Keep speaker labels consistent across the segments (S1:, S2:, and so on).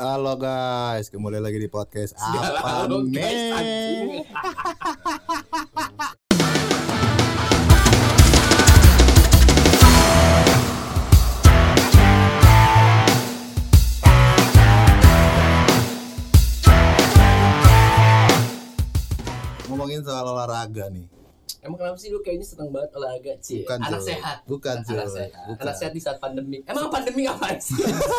S1: Halo guys, kembali lagi di podcast apa
S2: Halo guys,
S1: nih?
S2: anjing.
S1: Ngomongin soal olahraga nih.
S2: Emang kenapa sih lu kayaknya seneng banget olahraga sih?
S1: Bukan,
S2: Anak
S1: Cul.
S2: sehat.
S1: Bukan, Cul.
S2: Anak sehat.
S1: Bukan.
S2: Anak sehat di saat pandemi. Emang pandemi apaan sih?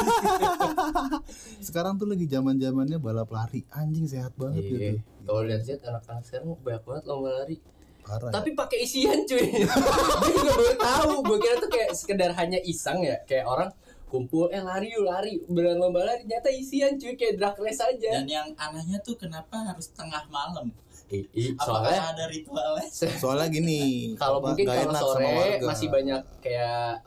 S1: Sekarang tuh lagi zaman-zamannya balap lari. Anjing sehat banget gitu.
S2: Iya. Kalau lihat anak-anak sekarang banyak banget lomba lari.
S1: Parah.
S2: Tapi pakai isian cuy. Gue juga baru tahu. Gue kira tuh kayak sekedar hanya iseng ya. Kayak orang kumpul lari yuk lari. Beneran lomba lari. Ternyata isian cuy. Kayak drag race aja.
S3: Dan yang anehnya tuh kenapa harus tengah malam?
S2: Soalnya
S3: Apakah ada ritualnya?
S1: Soalnya gini,
S2: kalau mungkin
S1: nggak
S2: kalau
S1: enak sama
S2: sore
S1: warga.
S2: masih banyak kayak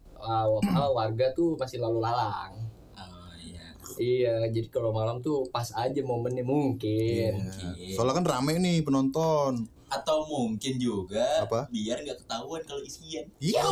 S2: warga tuh masih lalu lalang.
S3: Oh iya.
S2: Iya, jadi kalau malam tuh pas aja momennya mungkin.
S1: Iya. Soalnya kan rame nih penonton.
S3: Atau mungkin juga
S1: Apa?
S3: biar nggak ketahuan kalau isian.
S1: Iya.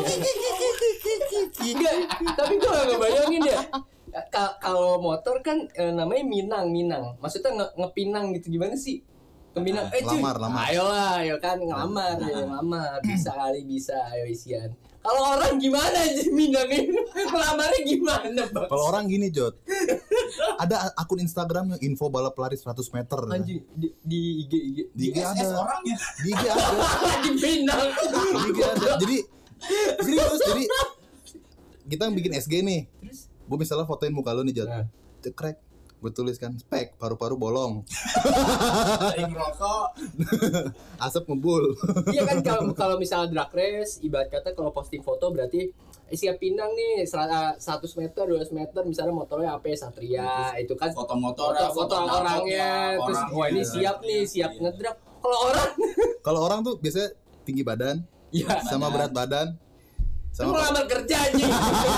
S2: Enggak, tapi gue gak ngebayangin ya. Kalau motor kan namanya minang. Maksudnya ngepinang gitu gimana sih? Keminang, cuy,
S1: lamar.
S2: ayo kan ngelamar, bisa kali bisa, ayo isian. Kalau orang gimana aja minangnya, ngelamarnya gimana bang?
S1: Kalau orang gini Jod, ada akun Instagram yang info balap lari 100 meter.
S2: Anjing di IG.
S1: Di IG ada.
S3: orangnya.
S1: Di IG ada.
S2: Di Pinang.
S1: Di IG ada. Jadi serius, jadi kita bikin SG nih.
S2: Terus?
S1: Gue misalnya fotoin muka lu nih Jod.
S2: Nah.
S1: Cekrek. Gue tuliskan spek paru-paru bolong.
S3: Sering rokok.
S1: Asap ngebul.
S2: Iya kan kalau misalnya drag race, ibarat kata kalau posting foto berarti siap pinang nih 100 meter, 200 meter misalnya motornya AP Satria itu kan
S3: Foto motor,
S2: foto orangnya terus wah ini siap nih, siap ngedrag. Kalau orang
S1: Tuh biasanya tinggi badan
S2: ya
S1: sama berat badan.
S2: sama
S1: Sama
S2: ngelamar kerja anjing.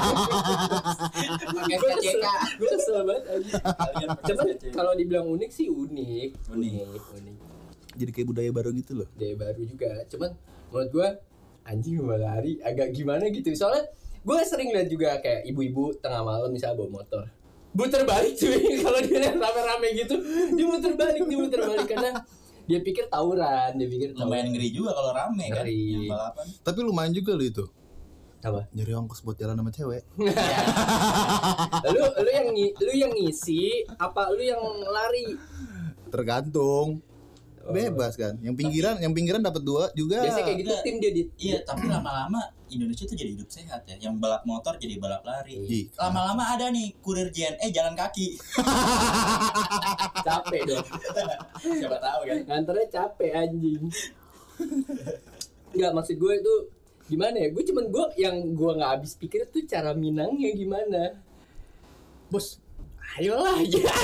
S3: Pakai
S2: Gue
S3: PCK.
S2: kesel banget anjing.
S3: Kalian pakai
S2: Cuman
S3: PCK.
S2: kalau dibilang unik sih unik.
S1: jadi kayak budaya baru gitu loh.
S2: Dia baru juga. Cuman menurut gue anjing lomba lari agak gimana gitu. Soalnya gue sering lihat juga kayak ibu-ibu tengah malam misalnya bawa motor. Muter balik cuy. Kalau dia rame-rame gitu, dia muter balik karena dia pikir tawuran,
S3: Lumayan ngeri juga kalau rame kan.
S2: Ngeri.
S3: Yang balapan.
S1: Tapi lumayan juga lo itu.
S2: Apa?
S1: Nyari ongkos buat jalan sama cewek.
S2: lu yang ngisi apa lu yang lari?
S1: Tergantung. Bebas kan. Yang pinggiran dapat 2 juga.
S2: Biasanya kayak gitu tim dia di.
S3: Iya, tapi lama-lama Indonesia tuh jadi hidup sehat ya. Yang balap motor jadi balap lari.
S1: Ih,
S3: Lama-lama ada nih kurir JNE jalan kaki.
S2: Capek dong.
S3: Siapa tahu kan.
S2: Nganternya capek anjing. Enggak, maksud gue itu gimana ya? Yang gue nggak habis pikir tuh cara minangnya gimana. Bos, ayolah,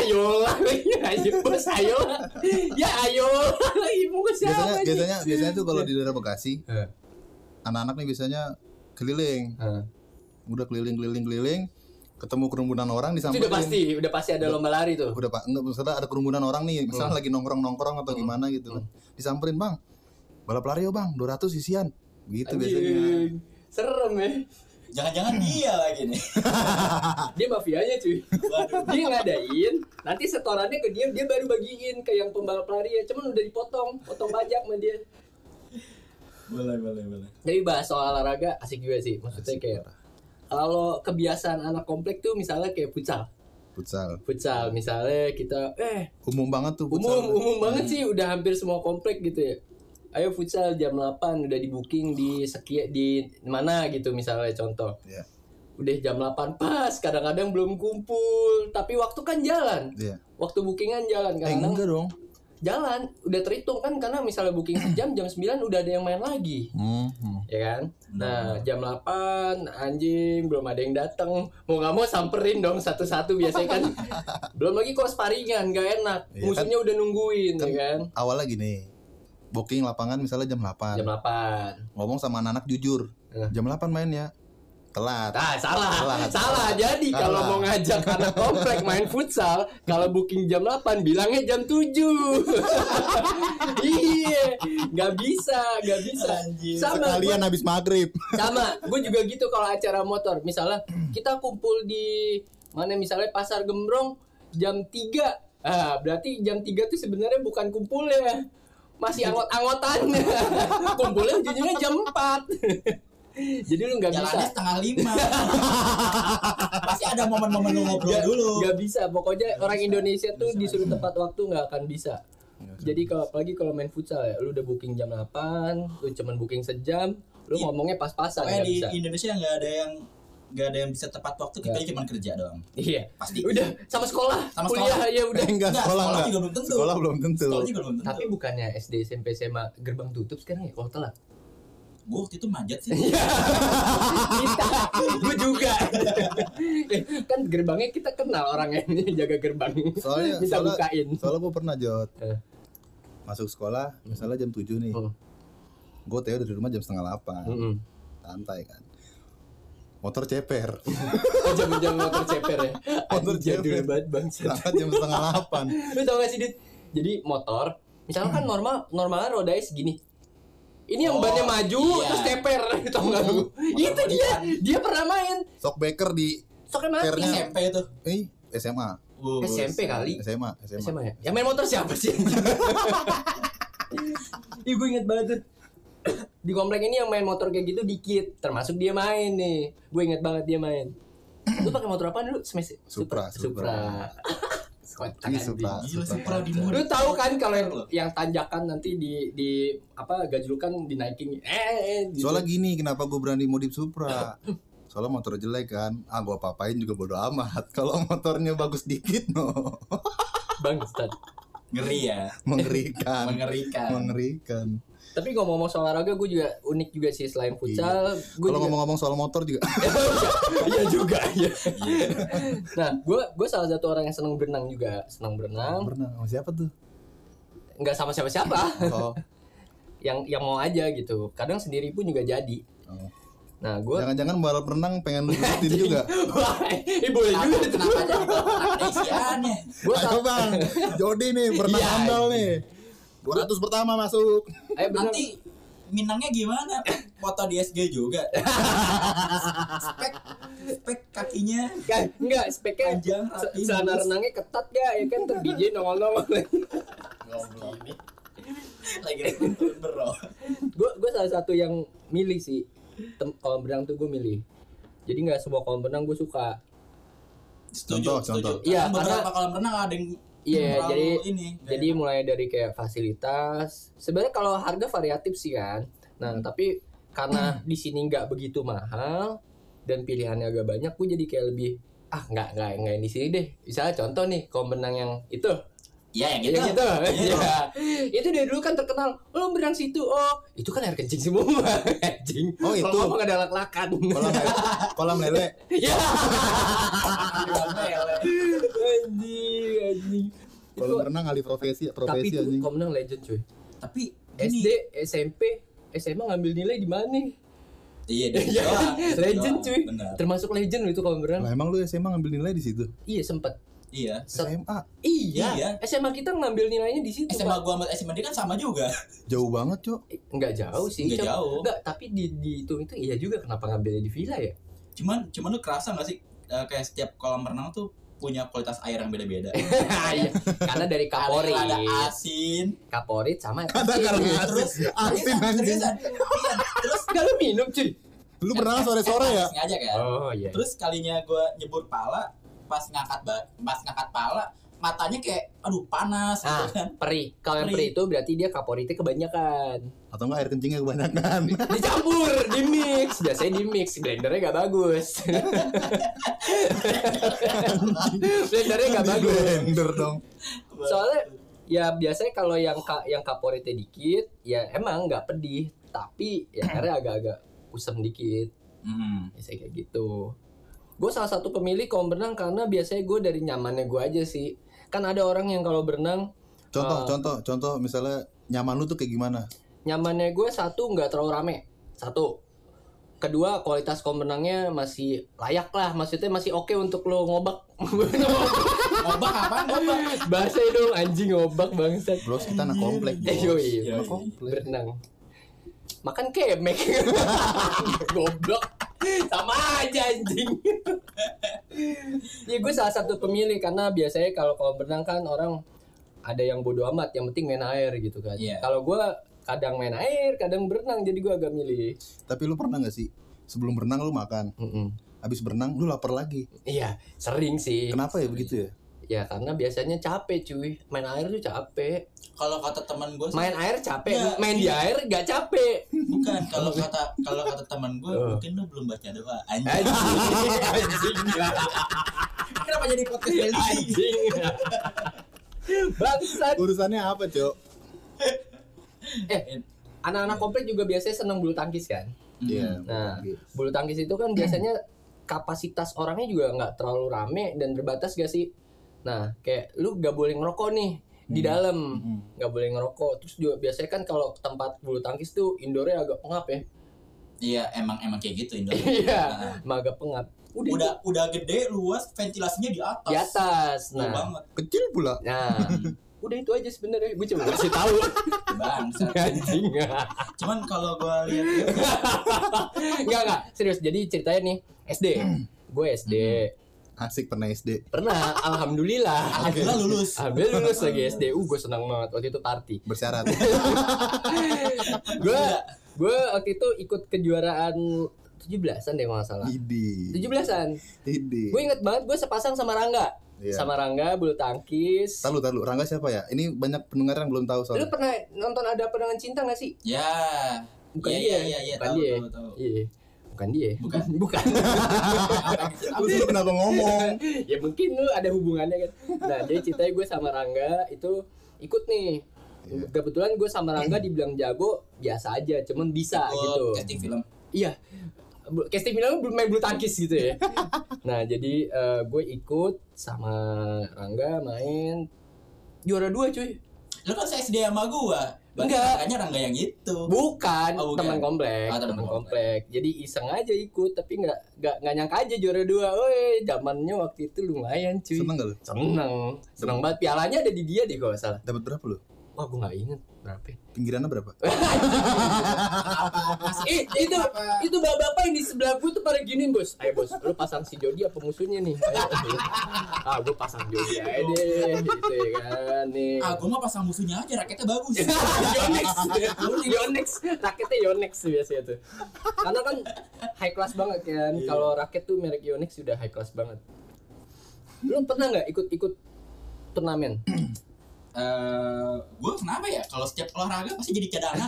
S2: bos, ayolah. Ya ayolah, ibu ke siapa?
S1: Biasanya tuh kalau di daerah Bekasi, anak-anak nih biasanya keliling. Udah keliling, ketemu kerumunan orang
S2: Itu
S1: disamperin.
S2: udah pasti ada lomba lari tuh.
S1: Udah Pak, enggak misalnya ada kerumunan orang nih, misalnya lagi nongkrong atau gimana gitu kan. Disamperin, "Bang. Balap lari yo, Bang. 200 isian." Gitu biasanya.
S2: Serem ya.
S3: Jangan-jangan dia lagi nih.
S2: Dia mafianya cuy.
S3: Waduh.
S2: Dia ngadain, nanti setorannya ke dia baru bagiin ke yang pembalap lari ya. Cuman udah potong pajak sama dia.
S3: Boleh.
S2: Jadi bahas soal olahraga asik juga sih. Maksudnya
S1: Asik,
S2: kayak
S1: parah.
S2: kalau kebiasaan anak komplek tuh misalnya kayak futsal misalnya kita
S1: Umum banget tuh futsal.
S2: umum banget sih, udah hampir semua komplek gitu ya. Ayo futsal jam 8 udah di booking di mana gitu misalnya contoh.
S1: Iya.
S2: Udah jam 8 pas, kadang-kadang belum kumpul, tapi waktu kan jalan.
S1: Iya.
S2: Waktu bookingan jalan kan.
S1: Enggak dong.
S2: Jalan, udah terhitung kan karena misalnya booking sejam, jam 9 udah ada yang main lagi. Ya kan? Nah, jam 8 anjing belum ada yang datang. Mau enggak mau samperin dong satu-satu biasanya kan. Belum lagi kalau sparingan enggak enak.
S1: Iya,
S2: Musuhnya udah nungguin
S1: kan
S2: ya kan.
S1: Awalnya gini, booking lapangan misalnya jam 8.
S2: Jam 8.
S1: Ngomong sama anak-anak jujur. Jam 8 main ya. Telat.
S2: Salah. Jadi kalau mau ngajak anak komplek main futsal, kalau booking jam 8 bilangnya jam 7. Iya, nggak bisa.
S3: Anjir.
S2: Sama
S1: Sekalian habis maghrib.
S2: sama, gue juga gitu kalau acara motor. Misalnya kita kumpul di mana misalnya Pasar Gembrong jam 3. Berarti jam 3 tuh sebenarnya bukan kumpulnya. Masih anggot-anggotan. Kumpulnya ujung-ujungnya jam 4. Jadi lu nggak bisa.
S3: Jalannya 4:30. Pasti ada momen-momen lu ngobrol dulu.
S2: Nggak bisa. Pokoknya orang Indonesia tuh disuruh tepat waktu nggak akan bisa. Jadi apalagi kalau main futsal ya, lu udah booking jam 8, lu cuman booking sejam, lu ngomongnya pas-pasan.
S3: Kayak di
S2: bisa.
S3: Indonesia nggak ada yang bisa tepat waktu, kita cuma kerja doang.
S2: Iya.
S3: Pasti.
S2: Udah sama sekolah. Kuliah ya udah.
S1: Enggak, sekolah
S3: juga belum tentu.
S1: Sekolah belum tentu.
S2: Tapi bukannya SD, SMP, SMA gerbang tutup sekarang ya kalau telat?
S3: Gue waktu itu manjat sih.
S2: Kita, gue juga. Kan gerbangnya kita kenal orangnya ini jaga gerbang.
S1: Soalnya
S2: bukain.
S1: Soalnya gue pernah Jot. Masuk sekolah misalnya jam 7 nih. Gue TO dari rumah jam 7:30. Santai kan. Motor ceper.
S2: Jam motor ceper ya.
S1: Motor ceper
S2: banget bang.
S1: Berangkat jam 7:30.
S2: Lu tau gak sih Dit? Jadi motor, misalnya kan normalnya rodanya segini. Ini yang bannya maju terus ceper, tau gak lu? Itu dia pernah main.
S1: Shockbreaker di
S2: Soknya mati.
S1: pernya.
S3: SMP itu.
S1: SMA.
S2: SMP kali.
S1: SMA
S2: ya. Yang main motor siapa sih? Ih gue inget banget tuh. Di komplek ini yang main motor kayak gitu dikit, termasuk dia main nih. Gue inget banget dia main. Lu pakai motor apa dulu? Smash.
S1: Supra.
S3: Supra di murid.
S2: Lu tahu kan kalau yang tanjakan nanti di apa gajlukan dinaikin. Gitu.
S1: Soalnya gini, kenapa gue berani modif Supra? Soalnya motor jelek kan. Gue apa-apain juga bodo amat. Kalau motornya bagus dikit
S2: Bangsat.
S3: Ngeri ya.
S1: Mengerikan.
S2: Tapi ngomong-ngomong soal olahraga, gue juga unik juga sih selain futsal.
S1: Kalau ngomong-ngomong soal motor juga.
S2: Iya juga. Iya. Nah, gue salah satu orang yang senang berenang juga. Berenang
S1: sama siapa tuh?
S2: Nggak sama siapa-siapa.
S1: Oh.
S2: yang mau aja gitu. Kadang sendiri pun juga jadi.
S1: Oh.
S2: Nah, gue
S1: jangan-jangan balap renang pengen lu ikutin juga.
S2: Wah, boleh juga itu.
S3: Kenapa jadi isiannya?
S1: Ayo bang, Jody nih berenang handal nih. 200 pertama masuk.
S3: Nanti Minangnya gimana? Foto di SG juga. Spek kakinya.
S2: Enggak, speknya
S3: panjang,
S2: celana renangnya ketat ya kan terbiji nongol-nongol.
S3: Lagi bro.
S2: Gue salah satu yang milih sih. Kolam renang tuh gue milih. Jadi nggak semua kolam renang gue suka.
S3: Contoh.
S2: Iya,
S3: beberapa kolam renang ada yang
S2: jadi mulai dari kayak fasilitas. Sebenarnya kalau harga variatif sih kan. Nah, tapi karena di sini nggak begitu mahal dan pilihannya agak banyak, gue jadi kayak lebih nggak yang di sini deh. Misalnya contoh nih kolam renang yang itu.
S3: Iya yang gitu.
S2: Iya. Itu dari dulu kan terkenal. Lo berenang situ. Oh, itu kan air kencing semua. Kencing.
S1: Oh, itu.
S2: Kalau ngomong ada lak-lakan.
S1: Kolam lele.
S2: Iya. Anjing.
S1: Kolam renang alih profesi anjing.
S2: Tapi kolam renang legend cuy.
S3: Tapi
S2: SD, SMP, SMA ngambil nilai di mana?
S3: Iya,
S2: legend cuy.
S3: Benar.
S2: Termasuk legend itu kolam renang.
S1: Lah emang lu SMA ngambil nilai di situ?
S2: Iya, sempat.
S3: Iya.
S1: SMA.
S2: Iya. SMA kita ngambil nilainya di situ.
S3: SMA gua sama SMA dia kan sama juga.
S1: Jauh banget, Cok.
S2: Enggak jauh sih.
S3: Enggak jauh.
S2: Enggak, tapi di itu iya juga kenapa ngambilnya di villa ya?
S3: Cuman lu kerasa enggak sih kayak setiap kolam renang tuh punya kualitas air yang beda-beda.
S2: Iya. Karena dari kaporit.
S3: Ada asin,
S2: kaporit sama
S3: terus
S1: asin anjing.
S3: Terus
S2: enggak lu minum cuy.
S1: Lu berenang sore-sore ya?
S3: Sengaja kan?
S2: Oh iya.
S3: Terus kalinya gua nyebur pala, pas ngangkat pala, matanya kayak aduh panas gitu kan.
S2: Perih. Kalau yang perih itu berarti dia kaporitnya kebanyakan.
S1: Atau enggak air kencingnya kebanyakan.
S2: Dicampur, di mix. Biasanya di mix, blendernya gak bagus. Blendernya gak bagus.
S1: Blender dong.
S2: Soalnya ya biasanya kalau yang kaporitnya dikit, ya emang nggak pedih, tapi ya airnya agak-agak usem dikit. Biasanya kayak gitu. Gue salah satu pemilih kolam renang karena biasanya gue dari nyamannya gue aja sih. Kan ada orang yang kalau berenang
S1: Contoh misalnya nyaman lu tuh kayak gimana?
S2: Nyamannya gue satu nggak terlalu rame. Satu. Kedua kualitas kolam renangnya masih layak lah. Maksudnya masih oke untuk lo ngobak.
S3: Ngobak apa? Ngobak.
S2: Bahasa dong anjing ngobak bangsat.
S1: Bros kita anak komplek.
S2: Yoi. Berenang. Makan kemek. Goblok. Sama aja anjing. Ya gue salah satu pemilih karena biasanya kalau kolam renang kan orang ada yang bodo amat, yang penting main air gitu kan.
S3: Iya.
S2: Kalau gue kadang main air, kadang berenang, jadi gue agak milih.
S1: Tapi lu pernah nggak sih sebelum berenang lu makan, habis berenang lu lapar lagi?
S2: Iya, sering sih.
S1: Kenapa ya begitu ya?
S2: Ya karena biasanya capek cuy, main air tuh capek.
S3: Kalau kata teman gue
S2: Main air capek,
S3: Ya,
S2: main di
S3: iya.
S2: air gak capek.
S3: bukan. Kalau kata teman gue mungkin lu belum baca doa. Anjing.
S2: Anjing.
S3: Kenapa jadi podcast religi?
S2: Anjing. Bangsat.
S1: Urusannya apa, Cok?
S2: Anak-anak komplek juga biasanya senang bulu tangkis kan.
S1: Iya.
S2: Nah, bulu tangkis itu kan biasanya kapasitas orangnya juga nggak terlalu rame dan terbatas gak sih? Nah, kayak lu gak boleh ngerokok nih di dalam, nggak boleh ngerokok. Terus juga biasanya kan kalau tempat bulu tangkis tuh indoornya agak pengap ya.
S3: Iya, emang kayak gitu Indo.
S2: Iya, emang agak pengap.
S3: Udah gede, luas, ventilasinya di atas.
S2: Di atas.
S3: Nah,
S2: Nah,
S3: banget.
S1: Kecil pula.
S2: nah, udah itu aja sebenarnya. Gue cuma kasih tahu.
S3: Bangsat.
S2: Anjing.
S3: Cuman kalau gue lihat
S2: Enggak, serius. Jadi ceritanya nih, SD. Gue SD.
S1: Asik pernah SD.
S2: Pernah, alhamdulillah.
S3: alhamdulillah lulus.
S2: Alhamdulillah lulus lagi SD. Gue senang banget waktu itu party.
S1: Bersyarat.
S2: Gue waktu itu ikut kejuaraan 17-an deh kalau nggak salah.
S1: Idi.
S2: 17-an.
S1: Idi.
S2: Gue inget banget gue sepasang sama Rangga.
S1: Iya.
S2: Sama Rangga bulu tangkis.
S1: Tahu Rangga siapa ya? Ini banyak pendengar yang belum tahu
S2: Lu
S1: soalnya.
S2: pernah nonton Ada Perangan Cinta gak sih?
S3: Ya.
S2: Bukan
S3: Iya,
S2: dia.
S3: iya,
S2: Bukan
S3: tahu,
S2: dia.
S3: tahu.
S2: Iya. Bukan dia.
S3: Bukan.
S2: Bukan.
S1: Lu sih kenapa ngomong?
S2: Ya mungkin lu ada hubungannya kan. Nah, jadi ceritanya gue sama Rangga itu ikut nih. Kebetulan gue sama Rangga dibilang jago biasa aja, cuman bisa gitu.
S3: Casting film.
S2: Iya. Casting film belum main bulu tangkis gitu ya. Nah, jadi gue ikut sama Rangga main juara 2 cuy.
S3: Lu kan SD sama gua. Berarti
S2: Enggak.
S3: Makanya Rangga yang itu.
S2: Bukan,
S3: Oh, bukan.
S2: teman komplek,
S3: Oh, teman
S2: teman
S3: komplek.
S2: komplek. Jadi iseng aja ikut, tapi nggak nyangka aja juara 2. Woi, zamannya waktu itu lumayan cuy.
S1: Seneng gak lu?
S2: Seneng banget. Pialanya ada di dia deh kalau nggak salah.
S1: Dapat berapa lu?
S2: Wah, gue nggak inget berapa.
S1: Pinggirannya berapa?
S2: Itu bapak-bapak yang di sebelah gue tuh pada giniin bos. Ayo bos, lu pasang si Jody apa musuhnya nih? Ayo. Gue pasang Jody aja deh, gitu ya kan nih.
S3: Gua mah pasang musuhnya aja, raketnya bagus.
S2: Yonex, raketnya Yonex biasanya tuh. Karena kan high class banget kan. Kalau raket tuh merek Yonex sudah high class banget. Lu pernah nggak ikut turnamen?
S3: Gue kenapa ya? Kalau setiap olahraga pasti jadi cadangan.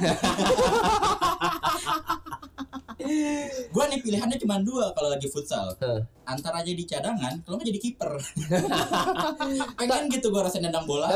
S3: Gue nih pilihannya cuma 2 kalau lagi futsal. Antara jadi cadangan, kalau nggak jadi kiper. Pengen gitu gue rasanya nendang bola.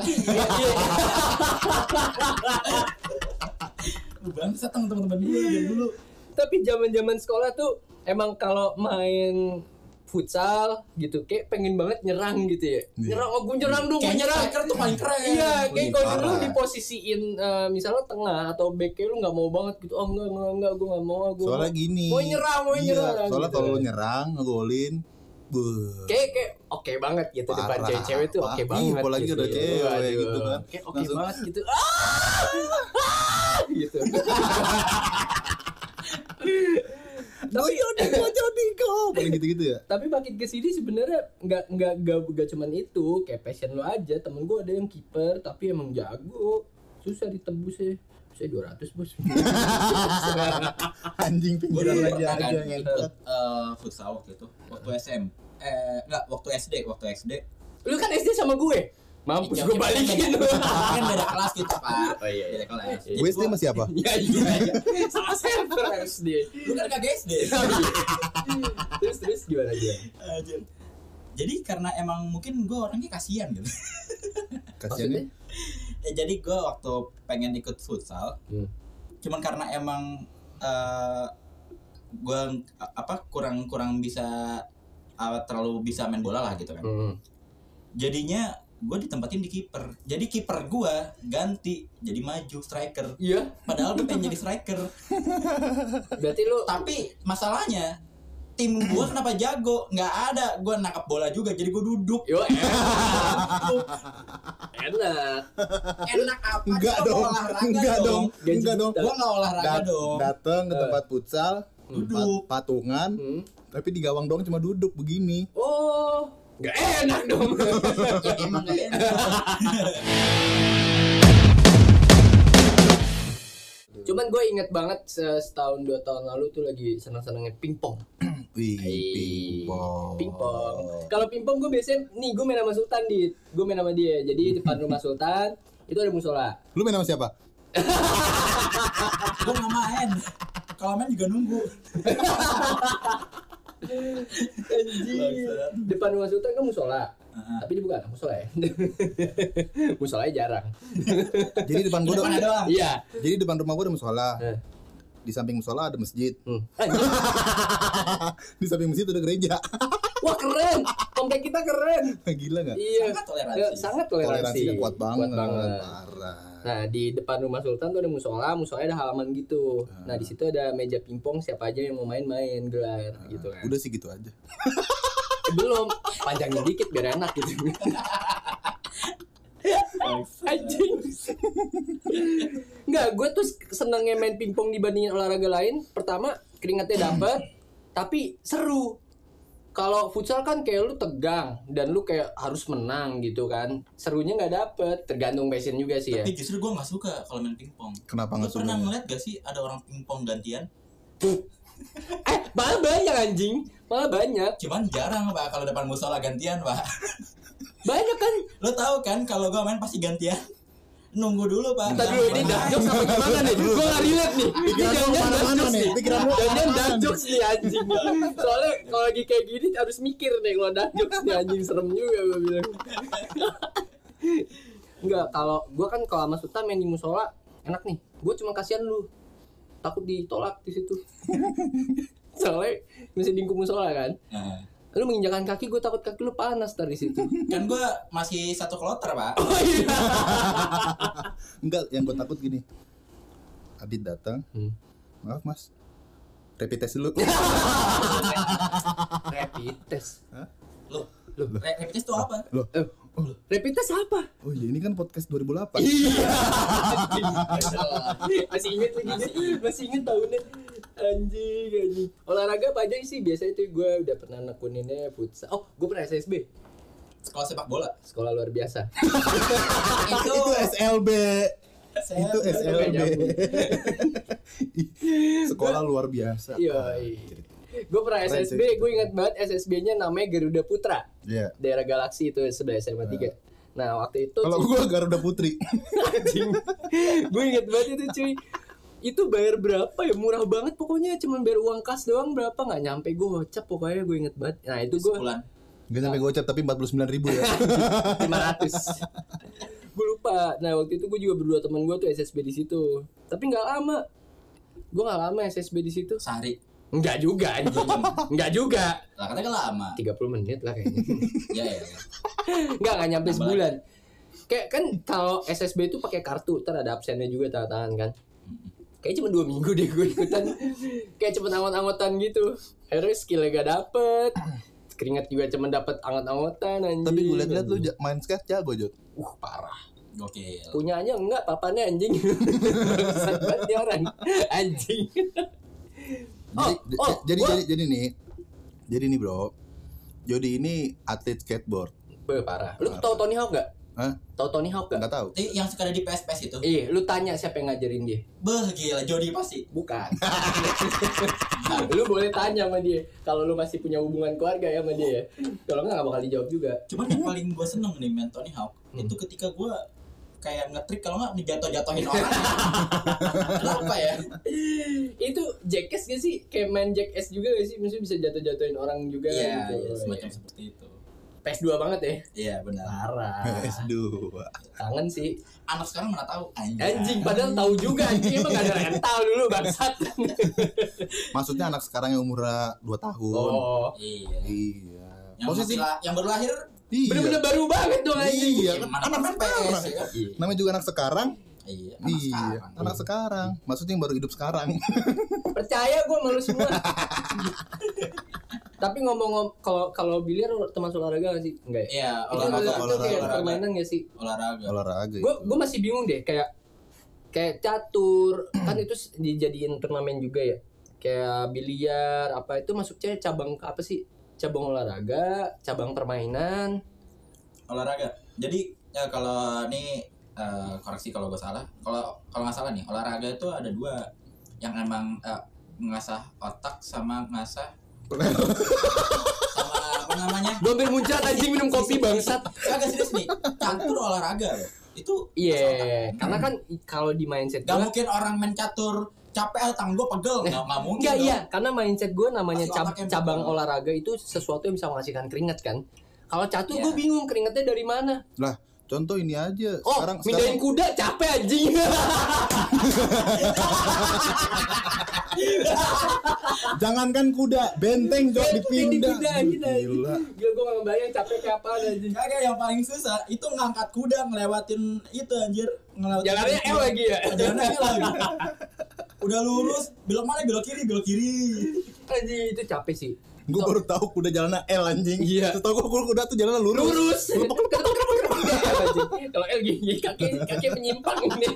S3: Bangsa teman-teman gue dari dulu.
S2: Tapi zaman-zaman sekolah tuh emang kalau main futsal gitu kayak pengen banget nyerang gitu ya. Nyerang, gue nyerang dong, gue
S3: Kayaknya
S2: nyerang.
S3: striker tuh paling keren.
S2: Iya, kayak kalau dulu
S1: parah.
S2: diposisiin misalnya tengah atau back lu nggak mau banget gitu. Oh enggak, gue nggak mau.
S1: Soalnya gini.
S2: Mau nyerang.
S1: Soalnya
S2: gitu.
S1: kalau lu nyerang, ngegolin,
S2: Kayak oke banget gitu depan
S1: Parah.
S2: cewek-cewek tuh oke
S1: Iya,
S2: banget.
S1: apalagi
S2: gitu.
S1: udah cewek
S2: Waduh.
S1: gitu kan.
S2: Kayak oke
S1: Langsung-
S2: banget gitu. Gitu.
S1: Jadi kok paling gitu-gitu ya.
S2: Tapi makin kesini sebenarnya nggak cuman itu, kayak passion lo aja. Temen gue ada yang kiper tapi emang jago, susah ditembus ya. Saya 200 bos.
S1: Anjing
S3: Gue
S1: pinggiran
S3: dulu
S1: lagi
S3: pernah
S1: aja
S3: kan
S1: ngentot.
S3: ikut futsal waktu itu. Waktu waktu SD.
S2: Lu kan SD sama gue. Mampus
S3: Iya,
S2: gue
S3: kita
S2: balikin lu.
S3: Kan beda kelas kita, Pak.
S2: Oh iya.
S3: Beda kelas. Jadi
S1: Gue SD
S3: gua-
S1: sama siapa?
S2: Iya. Sama server SD.
S3: Lu kan kagak SD.
S2: Terus gimana dia?
S3: Anjir. Jadi karena emang mungkin gue orangnya kasihan gitu.
S1: Kasiannya.
S3: Jadi gue waktu pengen ikut futsal, cuman karena emang gue kurang bisa terlalu bisa main bola lah gitu kan. Jadinya gue ditempatin di kiper. Jadi kiper gue ganti jadi maju striker.
S2: Iya.
S3: Padahal gue pengen jadi striker.
S2: Berarti lu
S3: Tapi masalahnya tim gue kenapa jago? Nggak ada. Gue nangkap bola juga. Jadi gue duduk.
S2: yo enak.
S3: Enak apa?
S1: Enggak
S3: Gua
S1: dong.
S3: olahraga
S1: Enggak dong.
S2: Gaji
S1: Enggak dong.
S3: Gue nggak olahraga dong.
S1: Dateng ke tempat futsal,
S3: Duduk.
S1: Patungan. Tapi di gawang doang cuma duduk begini.
S2: Oh, nggak enak dong.
S3: Ya emang gak enak.
S2: Cuman gue inget banget setahun 2 tahun lalu tuh lagi senang-senangnya pingpong.
S1: Wih, pingpong.
S2: Pingpong. Kalau pingpong gue biasanya nih gue main sama Sultan gue main sama dia. Jadi depan rumah Sultan itu ada musola.
S1: Lu main sama siapa?
S3: Gue gak main. Kalau main juga nunggu.
S2: Anjir. Depan rumah Sultan kan musola. Tapi dia bukan musola ya. Musolanya jarang.
S1: Jadi depan gua
S3: Depannya doang.
S2: Iya.
S1: Jadi depan rumah gua ada musola. Di samping musola ada masjid. Di samping masjid ada gereja.
S2: Wah keren. Komplek kita keren.
S1: Gila enggak?
S2: Iya.
S3: Sangat toleransi.
S2: Sangat toleransi.
S1: Toleransinya kuat banget.
S2: Parah. Nah di depan rumah Sultan tuh ada musolanya ada halaman gitu. Nah di situ ada meja pingpong, siapa aja yang mau main gelar gitu kan.
S1: Udah sih gitu aja.
S2: Belum, panjangin dikit biar enak gitu. Anjing. Enggak, gue tuh senengnya main pingpong dibandingin olahraga lain. Pertama keringatnya dapet, tapi seru. Kalau futsal kan kayak lu tegang dan lu kayak harus menang gitu kan. Serunya nggak dapet, tergantung passion juga sih ya.
S3: Tapi justru gue gak suka kalau main pingpong.
S1: Kenapa
S3: Lu
S1: nggak suka?
S3: pernah ngeliat gak sih ada orang pingpong gantian?
S2: Malah banyak anjing, malah banyak.
S3: Cuman jarang pak kalau depan musola gantian pak.
S2: Banyak kan?
S3: Lo tahu kan kalau gue main pasti gantian. Nunggu dulu pak.
S2: Entar dulu ini dark jokes apa gimana nih? Gue gak relate nih.
S1: Pikiran lu kemana-mana nih. Pikiran lu
S2: Jangan
S1: kemana-mana
S2: dark
S1: nih.
S2: jokes nih anjing. Soalnya kalau lagi kayak gini harus mikir nih kalau dark jokes nih anjing, serem juga gue bilang. Enggak, kalau gue kan kalau sama Sultan main di musola enak nih. Gue cuma kasihan lu. Takut ditolak di situ. Soalnya masih di musola kan.
S3: Nah,
S2: Lu menginjakan kaki, gue takut kaki lu panas dari situ.
S3: kan gue masih 1 kloter pak.
S2: Oh iya.
S1: Enggak, yang gue takut gini. Adit datang. Maaf mas, rapid test dulu.
S2: Rapid test.
S1: Hah?
S3: Lo rapid test itu apa?
S1: Loh,
S2: Rapid test apa?
S1: oh iya ini kan podcast 2008.
S2: Iya. Masih inget lagi. Masih inget tahunnya. Anjing. Olahraga apa aja sih? Biasanya tuh gue udah pernah nekuninnya futsal. Oh, gue pernah SSB.
S3: Sekolah sepak bola.
S2: Sekolah luar biasa.
S3: Itu
S1: Itu SLB. Itu SLB. Sekolah luar biasa.
S2: Iya. Gue pernah SSB. Gue ingat banget SSB-nya namanya Garuda Putra.
S1: Iya.
S2: Daerah Galaksi itu sebelah SMA 3. Nah, waktu itu
S1: Kalau gua Garuda Putri.
S2: anjing. Gue inget banget itu cuy. Itu bayar berapa ya? Murah banget pokoknya, cuman bayar uang kas doang berapa, nggak nyampe gocap pokoknya, gue inget banget. Nah itu gue
S3: sebulan.
S1: Gak sampai gocap tapi 49.000 ya.
S2: 500. Gue lupa. Nah waktu itu gue juga berdua teman gue tuh SSB di situ. Tapi nggak lama. Gue nggak lama SSB di situ.
S3: Sehari.
S2: Enggak juga anjing. Enggak juga.
S3: Lah katanya kan lama.
S2: 30 menit lah kayaknya.
S3: Ya.
S2: Nggak nyampe sebulan. Kayak kan kalau SSB itu pakai kartu, ntar ada absennya juga tanda tangan kan. Kayak cuma 2 minggu deh gue ikutan. Kayak cuma angot-angotan gitu. Akhirnya skillnya gak dapet. Keringat juga cuma dapet angot-angotan anjing.
S1: Tapi gue liat-liat lu main skate jago Jod.
S2: Parah.
S3: Gokil.
S2: Punyanya enggak, papannya anjing. Bangsat banget dia orang. Anjing.
S1: Jadi nih bro. Jody ini atlet skateboard.
S2: Parah. Lu tahu Tony Hawk gak?
S1: Hah?
S2: Tahu Tony Hawk gak?
S1: Nggak tahu.
S3: Yang suka ada di PS itu.
S2: Iya, lu tanya siapa yang ngajarin dia.
S3: Beh gila, Jody pasti.
S2: Bukan. Lu boleh tanya sama dia. Kalau lu masih punya hubungan keluarga ya sama dia ya. Kalau enggak bakal dijawab juga.
S3: Cuman yang paling gue seneng nih main Tony Hawk itu ketika gue kayak ngetrik kalau nggak dijatuh-jatuhin orang. Kenapa ya?
S2: Itu Jackass gak sih? Kayak main Jackass juga gak sih? Maksudnya bisa jatuh-jatuhin orang juga
S3: Iya,
S2: gitu.
S3: semacam seperti itu.
S2: PS2 banget ya.
S3: Iya benar.
S2: Parah.
S1: PS2.
S2: Kangen sih.
S3: Anak sekarang mana tahu
S2: Anjing padahal tahu juga anjing, emang gak ada rental dulu bangsat.
S1: Maksudnya anak sekarang yang umur 2 tahun.
S2: Oh.
S3: Iya.
S1: Iya.
S3: Yang
S1: Posisi
S3: yang baru lahir
S1: iya.
S2: Bener-bener baru banget dong anjing.
S1: Iya,
S3: mana
S1: anak
S3: main PS
S1: sekarang.
S3: ya kan?
S1: Namanya juga anak sekarang.
S3: Iya,
S1: Iya, anak sekarang. Maksudnya yang baru hidup sekarang.
S2: Percaya gue malu semua. Tapi ngomong kalau biliar termasuk olahraga gak sih? Enggak ya?
S3: Iya,
S2: Itu
S3: olahraga.
S2: kayak permainan gak sih?
S3: Olahraga.
S1: Olahraga.
S2: Gue masih bingung deh, kayak catur kan itu dijadiin turnamen juga ya. kayak biliar apa itu masuknya cabang apa sih? Cabang olahraga, cabang permainan.
S3: Olahraga. Jadi ya kalau ini koreksi kalau gue salah. Kalau nggak salah nih, olahraga itu ada 2 yang emang ngasah otak sama ngasah sama apa namanya?
S2: Gue hampir muncrat anjing minum kopi bangsat.
S3: Agak serius nih, catur olahraga loh. Itu
S2: Iya, karena kan kalau di mindset
S3: gak
S2: gue
S3: mungkin orang main catur capek tangan gue pegel, nggak mungkin.
S2: Enggak,
S3: dong.
S2: iya, karena mindset gue namanya
S3: Pasti otaknya
S2: cabang
S3: betul.
S2: olahraga itu sesuatu yang bisa menghasilkan keringat kan. Kalau catur
S3: Iya.
S2: gue bingung keringatnya dari mana.
S1: Lah, contoh ini aja.
S2: Oh, mindahin kuda capek anjing.
S1: Jangankan kuda, benteng juga dipindah.
S2: Kuda gitu.
S1: Gila.
S2: Gila gue gak ngebayang capek kayak apa anjing.
S3: Kagak, yang paling susah itu ngangkat kuda ngelewatin itu anjir, ngelewatin
S2: Jalannya L lagi ya.
S3: Jalannya L lagi. Udah lurus, belok mana? Belok kiri.
S2: Anjing itu capek sih.
S1: Gue baru tahu kuda jalannya L anjing.
S2: Iya.
S1: Setahu gue kuda tuh jalannya lurus.
S2: Kalau L gini kaki menyimpang ini.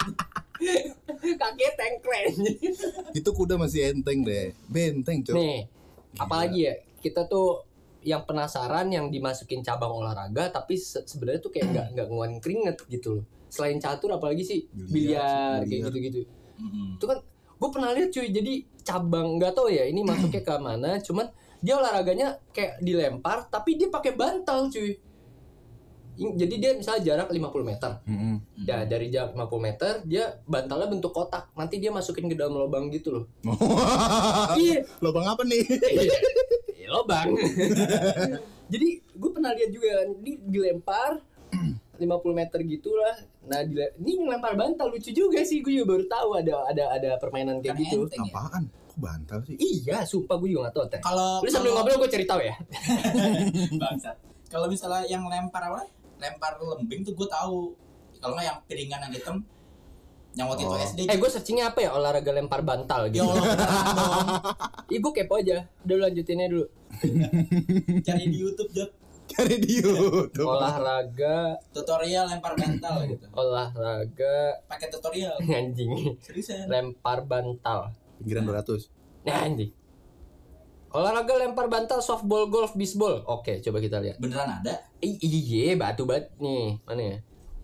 S2: Kaki tengkren.
S1: Itu kuda masih enteng deh. Benteng, Cok.
S2: Nih, apalagi ya? Kita tuh yang penasaran yang dimasukin cabang olahraga tapi sebenarnya tuh kayak nggak ngeluarin keringet gitu loh. Selain catur apalagi sih? Biliar kayak gitu-gitu. Itu kan gue pernah lihat cuy, jadi cabang nggak tahu ya ini masuknya ke mana, cuman dia olahraganya kayak dilempar tapi dia pakai bantal cuy. Jadi dia misalnya jarak 50 meter. Ya dari jarak 50 meter dia bantalnya bentuk kotak. Nanti dia masukin ke dalam lubang gitu loh. Iya.
S1: Lubang apa nih?
S2: Lubang. Jadi gue pernah lihat juga dilempar 50 meter gitulah. Nah, ini ngelempar bantal lucu juga sih, gue juga baru tahu ada permainan kayak
S3: Kan
S2: gitu.
S3: enteng ya.
S1: Apaan? Kok bantal sih?
S2: Iya, sumpah gue juga gak tahu teh.
S3: Kalau
S2: Lu sambil ngobrol gue cari tahu ya.
S3: bangsat. Kalau misalnya yang lempar apa? Lempar lembing tuh gue tahu. Kalau nggak yang piringan yang hitam, yang waktu itu SD.
S2: Gue searchingnya apa ya, olahraga lempar bantal
S3: Ya
S2: gitu.
S3: Allah, beneran dong.
S2: Gue kepo aja. Udah lu lanjutinnya dulu.
S3: Cari di YouTube, Jok.
S1: Cari di YouTube.
S2: Olahraga
S3: Tutorial lempar bantal gitu.
S2: olahraga
S3: Pakai tutorial.
S2: anjing.
S3: Seriusan.
S2: Lempar bantal.
S1: Pinggiran 200.
S2: Nah, anjing. Olahraga lempar bantal, softball, golf, bisbol. Oke, coba kita lihat.
S3: Beneran ada?
S2: Iya, batu bat nih. Mana ya?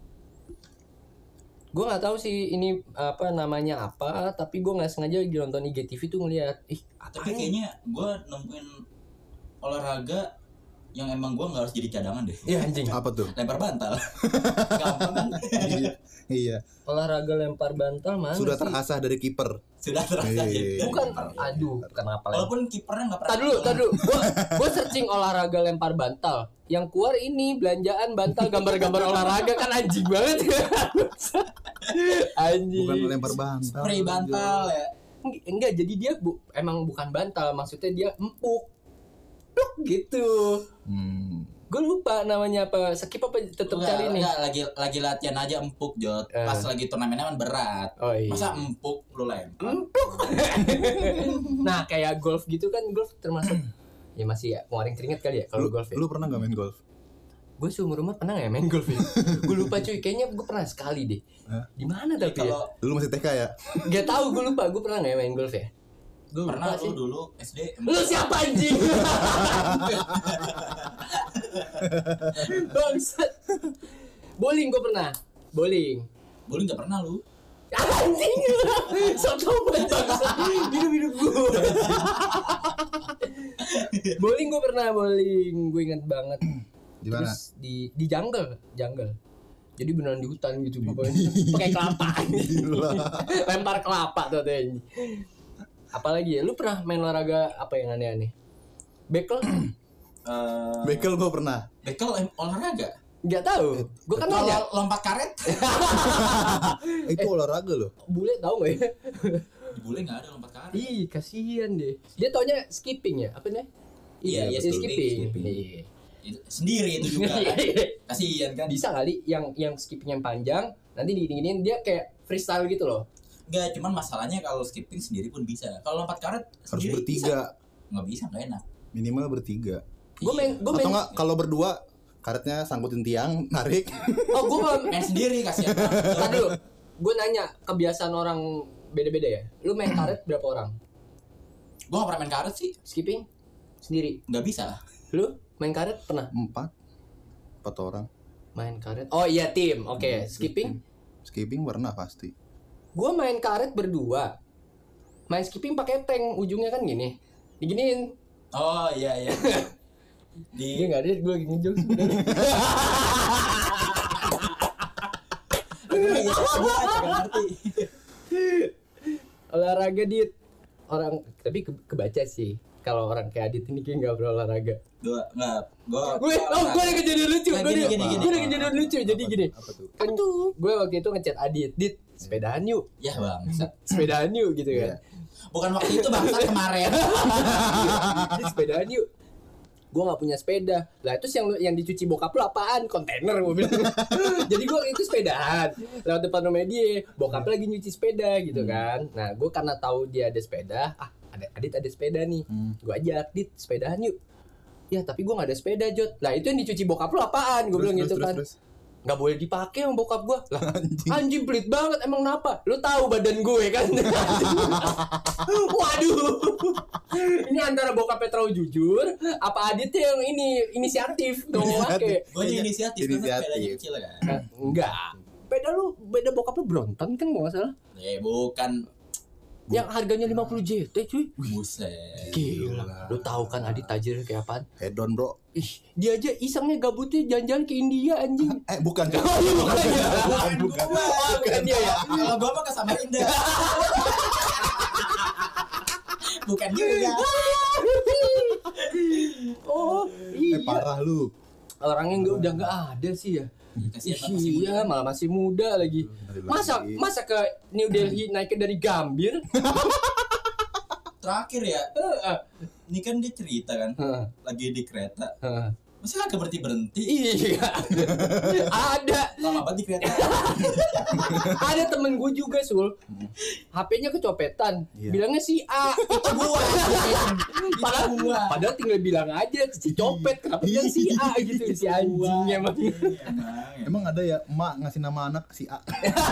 S2: Gue nggak tahu sih ini apa namanya apa, tapi gue nggak sengaja lagi nonton IGTV tuh ngeliat.
S3: Tapi kayaknya gue nemuin olahraga yang emang gue nggak harus jadi cadangan deh.
S2: Iya anjing.
S1: Apa tuh?
S3: Lempar bantal. Gampang kan?
S1: Iya.
S2: Olahraga lempar bantal mana
S1: Sudah
S2: sih?
S1: terasah dari kiper.
S3: Sudah terasa.
S1: Iya.
S2: Bukan, aduh, kenapa lagi?
S3: Walaupun kipernya nggak pernah.
S2: Tadi dulu. Gue searching olahraga lempar bantal. Yang keluar ini belanjaan bantal gambar-gambar olahraga kan anjing banget. Anjing.
S1: Bukan lempar bantal.
S3: Spray bantal ya.
S2: Enggak, jadi dia emang bukan bantal, maksudnya dia empuk. Pluk gitu. Gue lupa namanya apa. Skip apa tetep cari nih.
S3: Enggak, lagi latihan aja empuk, Jot. Pas lagi turnamennya kan berat.
S2: Oh, iya.
S3: Masa empuk lu lempar?
S2: Nah, kayak golf gitu kan, golf termasuk ya masih ya ngeluarin keringet kali ya kalau golf ya.
S1: Lu pernah gak main golf?
S2: Gue seumur umur pernah gak ya main golf ya? Gue lupa cuy, kayaknya gue pernah sekali deh. Di mana tapi ya?
S3: Kalau
S1: Dulu masih TK ya?
S2: Gak tahu, gue lupa. Gue pernah gak ya main golf ya? Gue
S3: pernah
S2: lupa sih.
S3: lu dulu SD.
S2: Lu siapa anjing? Bangsat. Bowling gue pernah. Bowling.
S3: Bowling nggak pernah lu?
S2: Anjing. Soto banget bangsat. Hidup gue. Bowling gue pernah, bowling. Gue inget banget.
S1: Di mana?
S2: Terus di jungle. Jadi beneran di hutan gitu pokoknya. Pakai kelapa.
S1: Gila.
S2: Lempar kelapa tuh anjing. Apalagi ya, lu pernah main olahraga apa yang aneh-aneh? Bekel?
S1: Bekel gue pernah.
S3: Bekel olahraga?
S2: Gak tahu. Gue kan nanya.
S3: Kalau lompat karet?
S1: Itu olahraga loh.
S2: Bule tahu nggak ya?
S3: Di bule nggak ada lompat karet.
S2: Ih, kasihan deh. Dia taunya skipping ya? Apa nih?
S3: Iya,
S2: skipping.
S3: skipping.
S2: Iya.
S3: Sendiri itu juga. Kasihan kan?
S2: Bisa kali yang skipping yang panjang, nanti digini-giniin dia kayak freestyle gitu loh.
S3: Enggak, cuman masalahnya kalau skipping sendiri pun bisa. Kalau lompat karet
S1: Harus
S3: sendiri
S1: bertiga.
S3: Nggak bisa, nggak enak.
S1: Minimal bertiga.
S2: Gue main
S1: Atau enggak kalau berdua karetnya sangkutin tiang, narik.
S2: Oh, gue
S3: Main sendiri kasihan.
S2: Tadi dulu. Gue nanya kebiasaan orang beda-beda ya. Lu main karet berapa orang?
S3: Gue gak pernah main karet sih.
S2: Skipping sendiri.
S3: Gak bisa lah.
S2: Lu main karet pernah?
S1: 4 orang.
S2: Main karet. Oh iya tim. Oke. Skipping?
S1: Skipping pernah pasti.
S2: Gua main karet berdua. Main skipping pakai tank, ujungnya kan gini. Diginiin.
S3: Oh iya.
S2: Dia enggak ada, gue lagi ngejok sebenarnya.
S3: ngerti.
S2: Olahraga dit. Orang tapi kebaca sih. Kalau orang kayak Adit ini kayak nggak berolahraga.
S3: Gue
S2: Gue ada kejadian lucu.
S3: Nah,
S2: Gue
S3: gini.
S2: ada kejadian lucu. Jadi gini.
S1: Apa tuh?
S2: Kan gue waktu itu ngechat Adit, Dit, sepedaan yuk.
S3: Ya bang.
S2: Sepedaan yuk gitu kan.
S3: Bukan waktu itu bangsa kemarin.
S2: Dit, sepedaan yuk. Gue nggak punya sepeda. Lah itu yang dicuci bokap lu apaan? Kontainer gue bilang. Jadi gue itu sepedaan. Lewat depan rumah dia, bokap lagi nyuci sepeda gitu kan. Nah gue karena tahu dia ada sepeda, Adit ada sepeda nih. Gue ajak, Dit, sepedaan yuk. Ya tapi gue gak ada sepeda, Jot. Lah itu yang dicuci bokap lu apaan? Gue bilang gitu kan. Gak boleh dipakai sama bokap gue. Lah anjing pelit banget. Emang kenapa? Lu tahu badan gue kan. Waduh. Ini antara bokapnya terlalu jujur, apa Adit yang ini inisiatif dong pakai.
S3: Gue inisiatif karena sepedanya kecil kan.
S2: Enggak. Beda bokap lu Bronton kan gak salah.
S3: Bukan.
S2: Yang harganya 50 JT cuy.
S3: Buset.
S2: Gila. Lu tahu kan Adit tajir kayak apaan?
S1: Hedon bro.
S2: Ih, dia aja isengnya gabutnya jalan-jalan ke India anjing.
S1: Bukan.
S2: Oh iya bukan ya.
S3: Bukan
S2: dia ya.
S3: Kalau gue mah ke Samarinda. Bukan juga.
S2: Oh iya.
S1: Parah lu.
S2: Orangnya udah nggak ada sih ya. Iya, malah masih muda lagi. Masa ke New Delhi naiknya dari Gambir?
S3: Terakhir ya. Ini kan dia cerita kan, lagi di kereta. Masa kagak berhenti?
S2: Iya. Ada.
S3: Lama banget di kereta.
S2: Ada temen gue juga Sul. HP-nya kecopetan. Bilangnya si A.
S3: Itu gua.
S2: Padahal tinggal bilang aja si copet. Kenapa bilang si A gitu? Si anjing emang.
S1: Emang ada ya emak ngasih nama anak si A.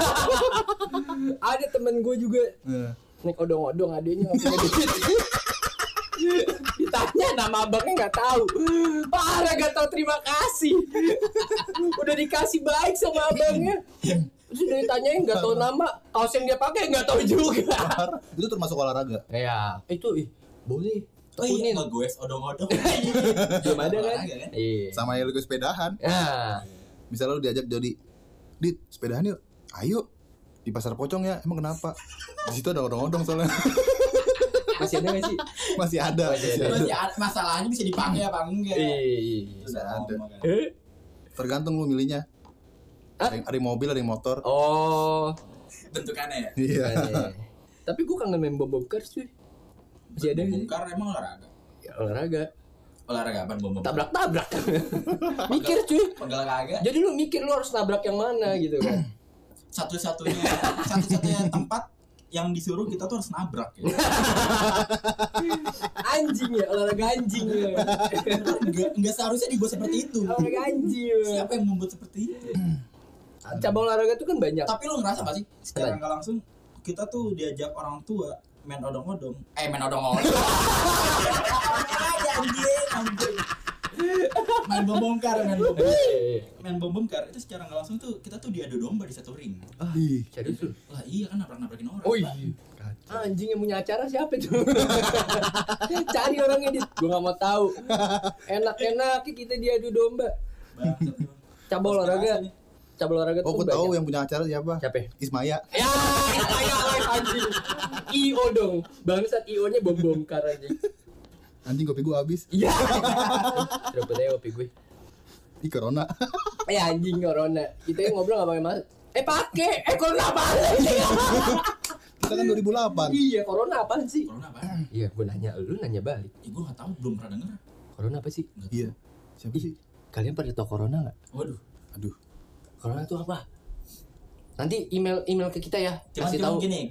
S2: Ada temen gue juga. Naik odong-odong adanya nggak punya duit. Ditanya nama abangnya nggak tahu. Parah gak tahu terima kasih. Udah dikasih baik sama abangnya. Terus udah ditanyain nggak tahu nama, kaos yang dia pakai nggak tahu juga.
S1: Itu termasuk olahraga.
S2: Ya itu boleh.
S3: Oh iya gue odong-odong.
S2: Belum ada kan?
S1: Iya. Sama yang lu sepedahan.
S2: Nah.
S1: Misalnya lu diajak Jody, Dit, sepedahan yuk. Ayo. Di pasar pocong ya. Emang kenapa? Di situ ada odong-odong soalnya.
S2: Masih ada nggak sih?
S1: Masih ada.
S3: Masalahnya bisa dipakai apa enggak?
S2: Iya.
S1: Bisa ada. Tergantung lu milihnya. Ada yang mobil, ada yang motor.
S2: Oh.
S3: Bentukannya ya?
S1: Iya.
S2: Tapi gue kangen main bom car cuy. Masih ada
S3: bom car emang olahraga?
S2: Ya olahraga.
S3: Olahraga apa bom car?
S2: Tabrak-tabrak. Mikir cuy.
S3: Olahraga.
S2: Jadi lu mikir lu harus nabrak yang mana gitu kan.
S3: Satu-satunya tempat yang disuruh kita tuh harus nabrak ya.
S2: Anjing ya, olahraga anjing ya.
S3: Enggak seharusnya dibuat seperti itu.
S2: Olahraga anjing ya.
S3: Siapa yang membuat seperti itu?
S2: Cabang olahraga tuh kan banyak.
S3: Tapi lu ngerasa gak sih secara nggak langsung kita tuh diajak orang tua main odong-odong. Main odong-odong. Anjing. Main bom bongkar itu secara nggak langsung tuh kita tuh diadu domba di satu ring.
S2: Serius lu?
S3: Lah iya kan nabrakin orang.
S2: Oh iya. Anjing yang punya acara siapa itu? Cari orangnya dit. Gua nggak mau tahu. Enak-enak kita diadu domba. Cabang olahraga tuh
S1: aku tahu yang punya acara siapa?
S2: Siapa?
S1: Ismaya.
S2: Ya, Ismaya anjing. IO dong. Bangsat IO-nya bom bongkar anjing.
S1: Anjing kopi gue habis.
S2: Iya. Dapat aja kopi gue.
S1: Corona.
S2: Anjing corona. Kita ngobrol enggak pakai masker. Pakai. Corona apaan?
S1: Kita kan 2008.
S2: Iya, corona apaan sih?
S3: Corona apa?
S2: Iya, gue nanya, lu nanya balik.
S3: Gue nggak tahu, belum pernah denger.
S2: Corona apa sih?
S1: Iya. Siapa sih?
S2: Kalian pada tahu corona nggak?
S3: Waduh.
S1: Aduh.
S2: Corona itu apa? Nanti email ke kita ya. Kasih tahu.
S3: Gini.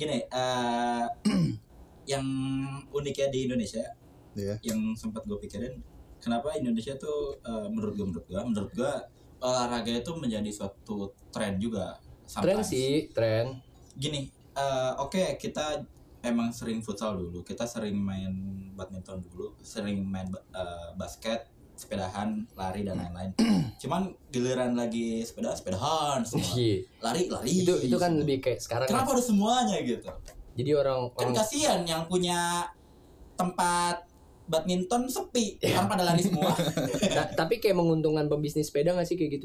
S3: Yang uniknya di Indonesia.
S1: Iya.
S3: Yang sempat gue pikirin kenapa Indonesia tuh menurut gue olahraga itu menjadi suatu tren juga.
S2: Tren sih, tren.
S3: Gini, oke, kita emang sering futsal dulu, kita sering main badminton dulu, sering main basket, sepedahan, lari dan lain-lain. Cuman giliran lagi sepedahan semua. Lari.
S2: Itu kan lebih kayak sekarang.
S3: Kenapa harus semuanya gitu?
S2: Jadi orang
S3: kasihan yang punya tempat badminton sepi, orang pada lari semua.
S2: Tapi kayak menguntungkan pembisnis sepeda nggak sih kayak gitu?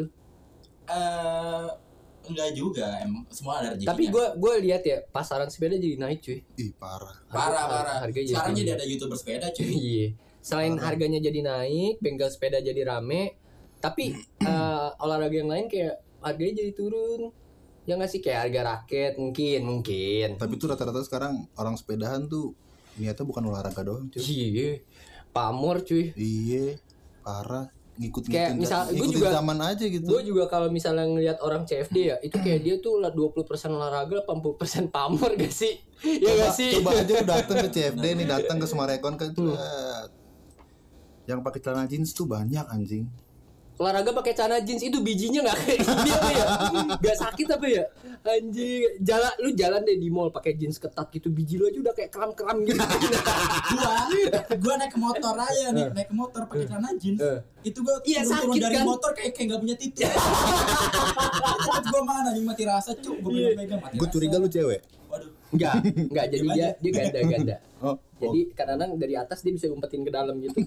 S3: Enggak juga, emang semua ada rezekinya.
S2: Tapi gue lihat ya pasaran sepeda jadi naik cuy.
S1: Ih parah.
S3: Harganya sekarang jadi ada YouTuber sepeda cuy.
S2: Iya. Selain harganya jadi naik, bengkel sepeda jadi rame, tapi olahraga yang lain kayak harganya jadi turun. Ya nggak sih, kayak harga raket mungkin.
S1: Tapi tuh rata-rata sekarang orang sepedahan tuh niatnya bukan olahraga doang cuy.
S2: Iya. Pamor cuy.
S1: Iya. Parah.
S2: Kayak misal gue juga
S1: zaman aja gitu.
S2: Gue juga kalau misalnya ngelihat orang CFD ya, itu kayak dia tuh 20% olahraga, 80% pamor gak sih? Ya gak sih?
S1: Coba aja lu datang ke CFD nih, datang ke Sumarekon kan yang pakai celana jeans tuh banyak anjing.
S2: Olahraga pakai celana jeans itu bijinya nggak kayak gini apa ya? Nggak sakit apa ya? Anjing, jalan deh di mall pakai jeans ketat gitu, biji lu aja udah kayak kram gitu.
S3: gua naik ke motor aja nih, naik ke motor pakai celana jeans. Itu gua turun dari kan? Motor kayak nggak punya titik. Gua mana nih mati rasa cuk, gua pegang mati.
S1: Gua curiga lu cewek.
S3: Waduh.
S2: Enggak jadi dia ganda. Jadi kadang-kadang dari atas dia bisa umpetin ke dalam gitu.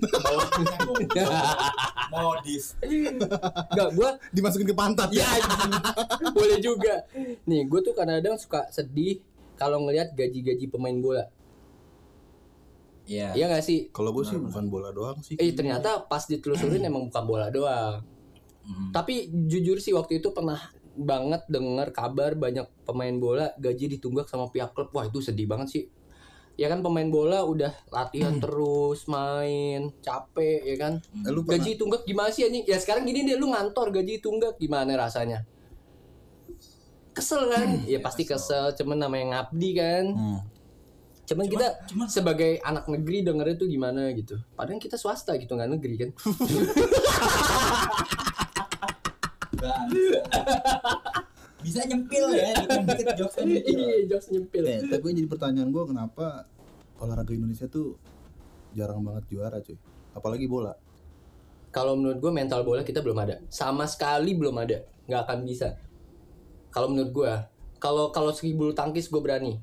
S3: Modif.
S2: Enggak, gua
S1: dimasukin ke pantat.
S2: Ya anjing. Boleh juga. Nih, gua tuh kadang-kadang suka sedih kalau ngelihat gaji-gaji pemain bola.
S3: Iya.
S2: Iya enggak sih?
S1: Kalau gua sih bukan bola doang sih.
S2: Ternyata pas ditelusurin emang bukan bola doang. Tapi jujur sih waktu itu pernah banget dengar kabar banyak pemain bola gaji ditunggak sama pihak klub. Wah, itu sedih banget sih. Ya kan pemain bola udah latihan terus, main, capek ya kan. Gaji tunggak gimana sih anjing? Ya sekarang gini deh, lu ngantor gaji tunggak gimana rasanya? Kesel kan? Ya pasti kesel, cuman namanya ngabdi kan. Cuman kita sebagai anak negeri dengernya tuh gimana gitu. Padahal kita swasta gitu, nggak negeri kan.
S3: Bisa nyempil ya, dikit jokes nyempil.
S2: Iya, jokes nyempil.
S1: Tapi jadi pertanyaan gue, kenapa olahraga Indonesia tuh jarang banget juara cuy, apalagi bola.
S2: Kalau menurut gue mental bola kita belum ada, sama sekali belum ada, nggak akan bisa. Kalau menurut gue, kalau segi bulu tangkis gue berani.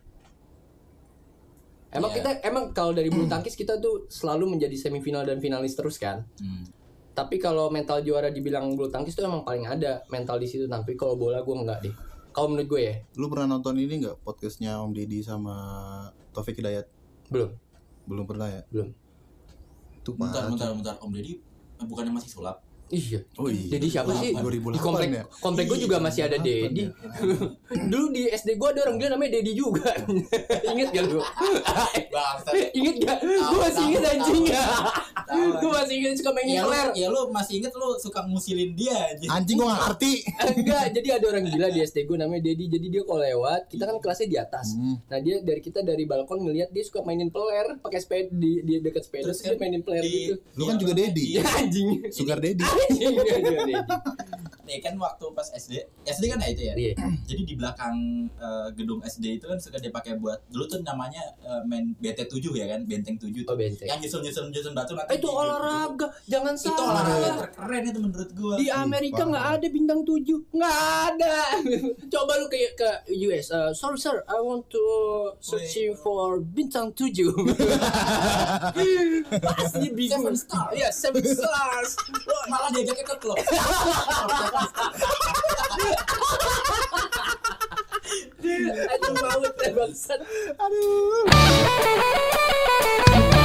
S2: Emang kalau dari bulu tangkis kita tuh selalu menjadi semifinal dan finalis terus kan. Tapi kalau mental juara dibilang bulu tangkis tuh emang paling ada mental di situ. Tapi kalau bola gue enggak deh. Kalau menurut gue ya.
S1: Lu pernah nonton ini enggak podcastnya Om Deddy sama Taufik Hidayat? Belum pernah ya?
S2: Belum.
S1: Itu
S3: bentar. Om Deddy bukannya masih sulap?
S2: Iya.
S1: Oh iya.
S2: Jadi siapa sih?
S1: 2008
S2: di komplek gue juga masih ada Dedi. Dulu di SD gue ada orang dia namanya Dedi juga. Ingat gak lu? Ingat gak? Gue masih ingat anjing ya. Gue masih ingat suka main peler.
S3: Ya lu masih ingat lu suka ngusilin dia
S1: anjing gue gak ngerti.
S2: Enggak, jadi ada orang gila di SD gue namanya Dedi. Jadi dia kalau lewat, kita kan kelasnya di atas. Nah dia dari balkon ngeliat dia suka mainin peler pakai sepeda di dekat sepeda. Terus dia mainin peler gitu.
S1: Lu kan juga Dedi.
S2: Anjing.
S1: Sugar Dedi.
S3: Nih kan waktu pas SD kan ya itu ya. Jadi di belakang gedung SD itu kan suka dipakai buat dulu tuh namanya main BT7 ya kan, benteng 7 tuh. Yang nyusun batu nanti.
S2: Itu olahraga, jangan salah.
S3: Itu olahraga terkeren itu menurut gua.
S2: Di Amerika nggak ada bintang 7, nggak ada. Coba lu ke US. Sorry sir, I want to searching for bintang 7. Pasti bingung.
S3: 7 stars.
S2: Iya, 7 stars.
S3: Malah diajaknya ke klub.
S2: Aduh, mau bangsat. Aduh.